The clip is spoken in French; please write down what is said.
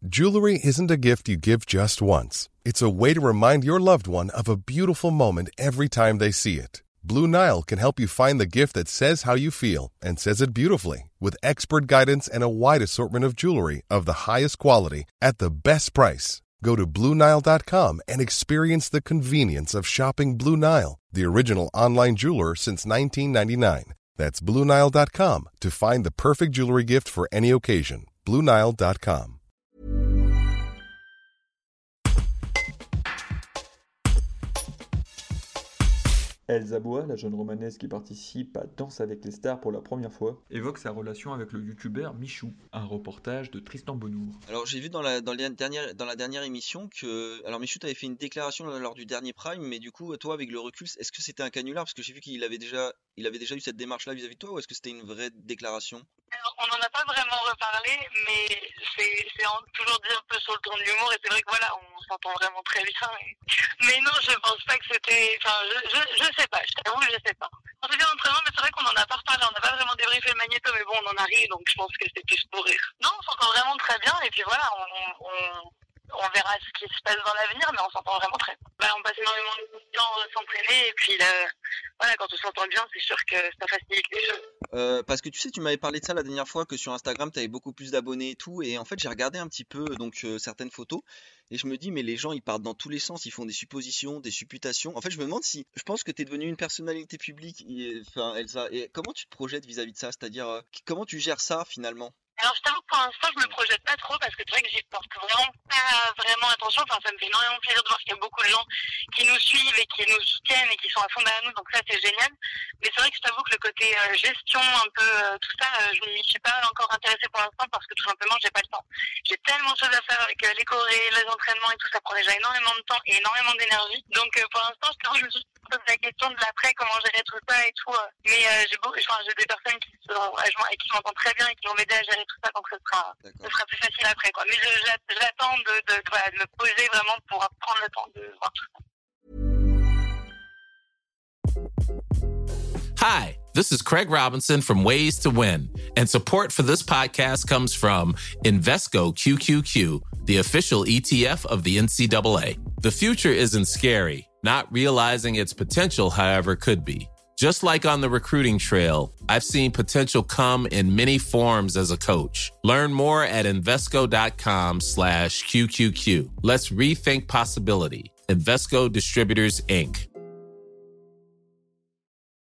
Jewelry isn't a gift you give just once. It's a way to remind your loved one of a beautiful moment every time they see it. Blue Nile can help you find the gift that says how you feel and says it beautifully, with expert guidance and a wide assortment of jewelry of the highest quality at the best price. Go to BlueNile.com and experience the convenience of shopping Blue Nile, the original online jeweler since 1999. That's BlueNile.com to find the perfect jewelry gift for any occasion. BlueNile.com. Elsa Bois, la jeune romanaise qui participe à Danse avec les stars pour la première fois, évoque sa relation avec le youtubeur Michou. Un reportage de Tristan Bonnour. Alors j'ai vu dans la dernière émission que... Alors Michou t'avait fait une déclaration lors du dernier Prime, mais du coup toi avec le recul, est-ce que c'était un canular? Parce que j'ai vu qu'il avait déjà eu cette démarche-là vis-à-vis de toi, ou est-ce que c'était une vraie déclaration? Alors, on n'en a pas vraiment reparlé, mais c'est toujours dit un peu sur le ton de l'humour, et c'est vrai que voilà, on s'entend vraiment très bien. Mais non, je pense pas que c'était... Enfin, je sais pas, je t'avoue, je sais pas. On s'est fait l'entraînement, mais c'est vrai qu'on en a pas reparlé, on n'a pas vraiment débriefé le magnéto, mais bon, on en a ri, donc je pense que c'était plus pour rire. Non, on s'entend vraiment très bien, et puis voilà, on verra ce qui se passe dans l'avenir, mais on s'entend vraiment très bien. On passe énormément de temps à s'entraîner, et puis voilà, quand on s'entend bien, c'est sûr que ça facilite les choses. Parce que tu sais, tu m'avais parlé de ça la dernière fois, que sur Instagram, tu avais beaucoup plus d'abonnés et tout, et en fait, j'ai regardé un petit peu certaines photos, et je me dis, mais les gens, ils partent dans tous les sens, ils font des suppositions, des supputations. En fait, je me demande si... Je pense que tu es devenue une personnalité publique, Elsa, et comment tu te projettes vis-à-vis de ça? C'est-à-dire, comment tu gères ça, finalement? Alors, je t'avoue que pour l'instant, je me projette pas trop parce que c'est vrai que j'y porte vraiment pas vraiment attention. Enfin, ça me fait énormément plaisir de voir qu'il y a beaucoup de gens qui nous suivent et qui nous soutiennent et qui sont à fond derrière nous. Donc ça, c'est génial. Mais c'est vrai que je t'avoue que le côté gestion, un peu tout ça, je m'y suis pas encore intéressée pour l'instant parce que tout simplement, j'ai pas le temps. J'ai tellement de choses à faire avec les chorés, les entraînements et tout. Ça prend déjà énormément de temps et énormément d'énergie. Donc pour l'instant, je t'avoue, je me suis posé la question de l'après, comment gérer tout ça et tout. Mais j'ai des personnes qui qui m'entendent très bien et qui vont m'aider à gérer tout ça, donc ce sera plus facile après, quoi. Mais j'attends de me poser vraiment pour prendre le temps de voir tout ça. Hi, this is Craig Robinson from Ways to Win, and support for this podcast comes from Invesco QQQ, the official ETF of the NCAA. The future isn't scary. Not realizing its potential, however, could be. Just like on the recruiting trail, I've seen potential come in many forms as a coach. Learn more at Invesco.com/QQQ. Let's rethink possibility. Invesco Distributors, Inc.